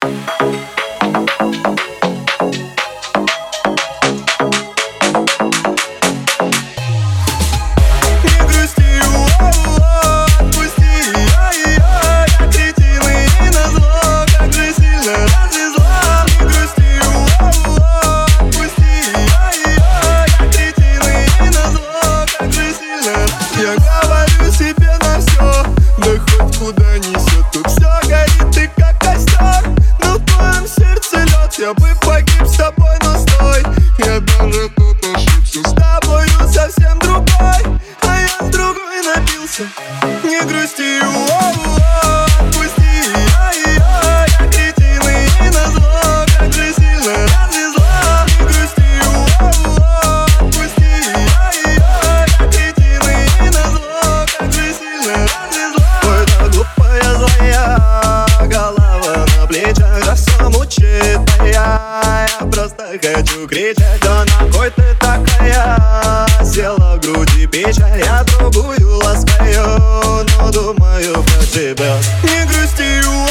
Я говорю себе на все, да хоть куда несет. Тут все горит, ты как костер, но в твоем сердце лед. Я бы погиб с тобой, но стой, я даже тут ошибся. С тобою совсем другой, а я с другой напился. Не грусти, отпусти, я кретин и назло, как же сильно развезло. Не грусти, отпусти, я кретин и назло, как же сильно развезло. Ой, да глупая злая голова на плечах, да все мучит моя. Я просто хочу кричать, да на кой ты такая? Села в груди печаль, я другую ласкаю, но думаю про тебя. Не грусти,